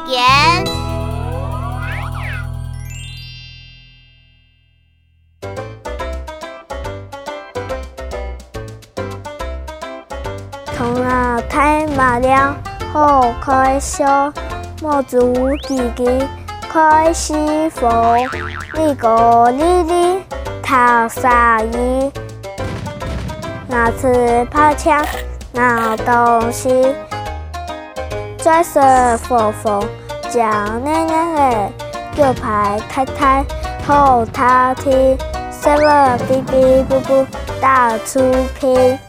言。 头脑太麻了，好开笑，毛足叽叽开西风，你个哩哩讨啥意？拿吃跑枪拿东西，拽蛇佛佛叫娘娘的，右排太太后头踢，什么哔哔啵啵到处拼。